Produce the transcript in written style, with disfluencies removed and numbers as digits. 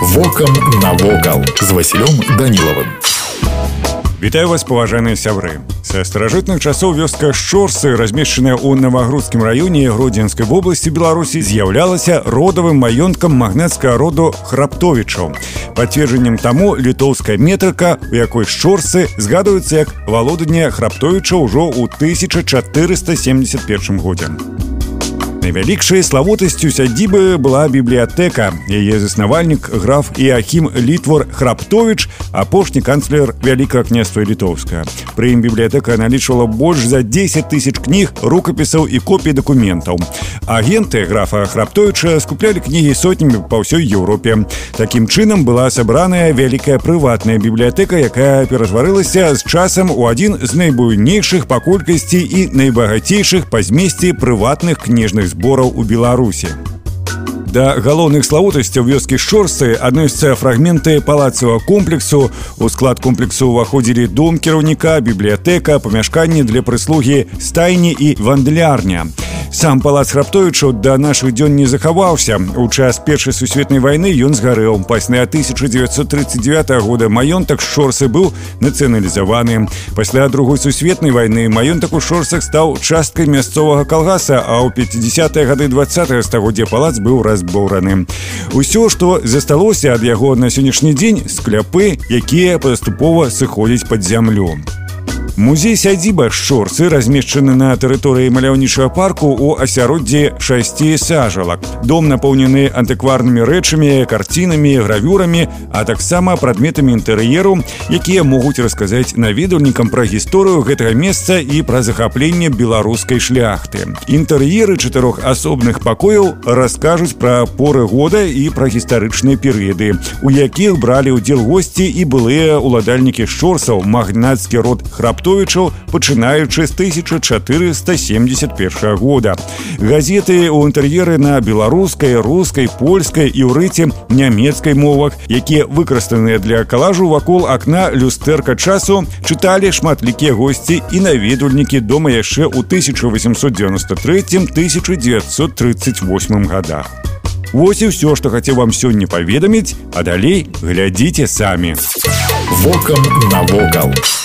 Вокам навокал з Васілём Данілавым. Вітаю вас, паважаныя сябры. Са старажытных часоў вёска Шчорсы, размешчаная ў Навагрудскім раёне Гродзенскай вобласці Беларусі, з'яўлялася родавым маёнткам магнацкага роду Храптовічаў. Пацверджаннем таму літоўская метрыка, у якой Шчорсы згадваюцца як валоданне Храптовічаў ужо ў 1471 годзе. Найвялікшай славутасцю сядзібы была бібліятэка. Яе заснавальнік граф Іахім Літвор Храптовіч, апошні канцлер Вялікага княства Літоўскага. Пры ім бібліятэка налічвала больш за 10 тысяч кніг, рукапісаў і копій дакументаў. Агенты графа Храптовіча скуплялі кнігі сотнямі па ўсёй Еўропе. Такім чынам была сабраная вялікая прыватная бібліятэка, якая ператварылася з часам у адзін з найбуйнейшых па колькасці і найбагацейшых па змесце прыватных кніжных збораў у Беларусі. Да галоўных славутасцяў вёскі Шчорсы адносяцца фрагменты палацавага комплексу. У склад комплексу ўваходзілі дом кіраўніка, бібліятэка, памяшканні для прыслугі, стайні і вандлярня. Сам палац Храптовічаў да нашых дзён не захаваўся. У час Першай сусветнай вайны ён згарэў. Пасля 1939 года маёнтак Шчорсы быў нацыяналізаваны. Пасля Другой сусветнай вайны маёнтак у Шчорсах стаў часткай мясцовага калгаса, а ў 50-е гады 20-го стагоддзя палац быў разбураны. Усё, што засталося ад яго на сённяшні дзень, скляпы, якія паступова сыходзяць пад зямлю. Музей-сядзіба Шчорсы размешчаны на тэрыторыі маляўнічага парку ў асяроддзі 6 сажалак. Дом напоўнены антыкварнымі рэчамі, карцінамі, гравюрамі, а таксама прадметамі інтэр'еру, якія могуць расказаць наведвальнікам пра гісторыю гэтага месца і пра захапленне беларускай шляхты. Інтэр'еры 4 асобных пакояў раскажуць пра поры года і пра гістарычныя перыяды, у якіх бралі ўдзел госці і былыя ўладальнікі Шчорсаў, магнацкі род Храптовічаў, пачынаючы з 1471 года. Газеты ў інтэр'еры на беларускай, рускай, польскай, іўрыце, нямецкай мовах, якія выкарыстаныя для калажу вакол акна люстэрка часу, чыталі шматлікія госці і наведвальнікі дома яшчэ ў 1893-1938 годах. Вось і ўсё, што хацеў вам сёння паведаміць, а далей глядзіце самі. Вокам навокал.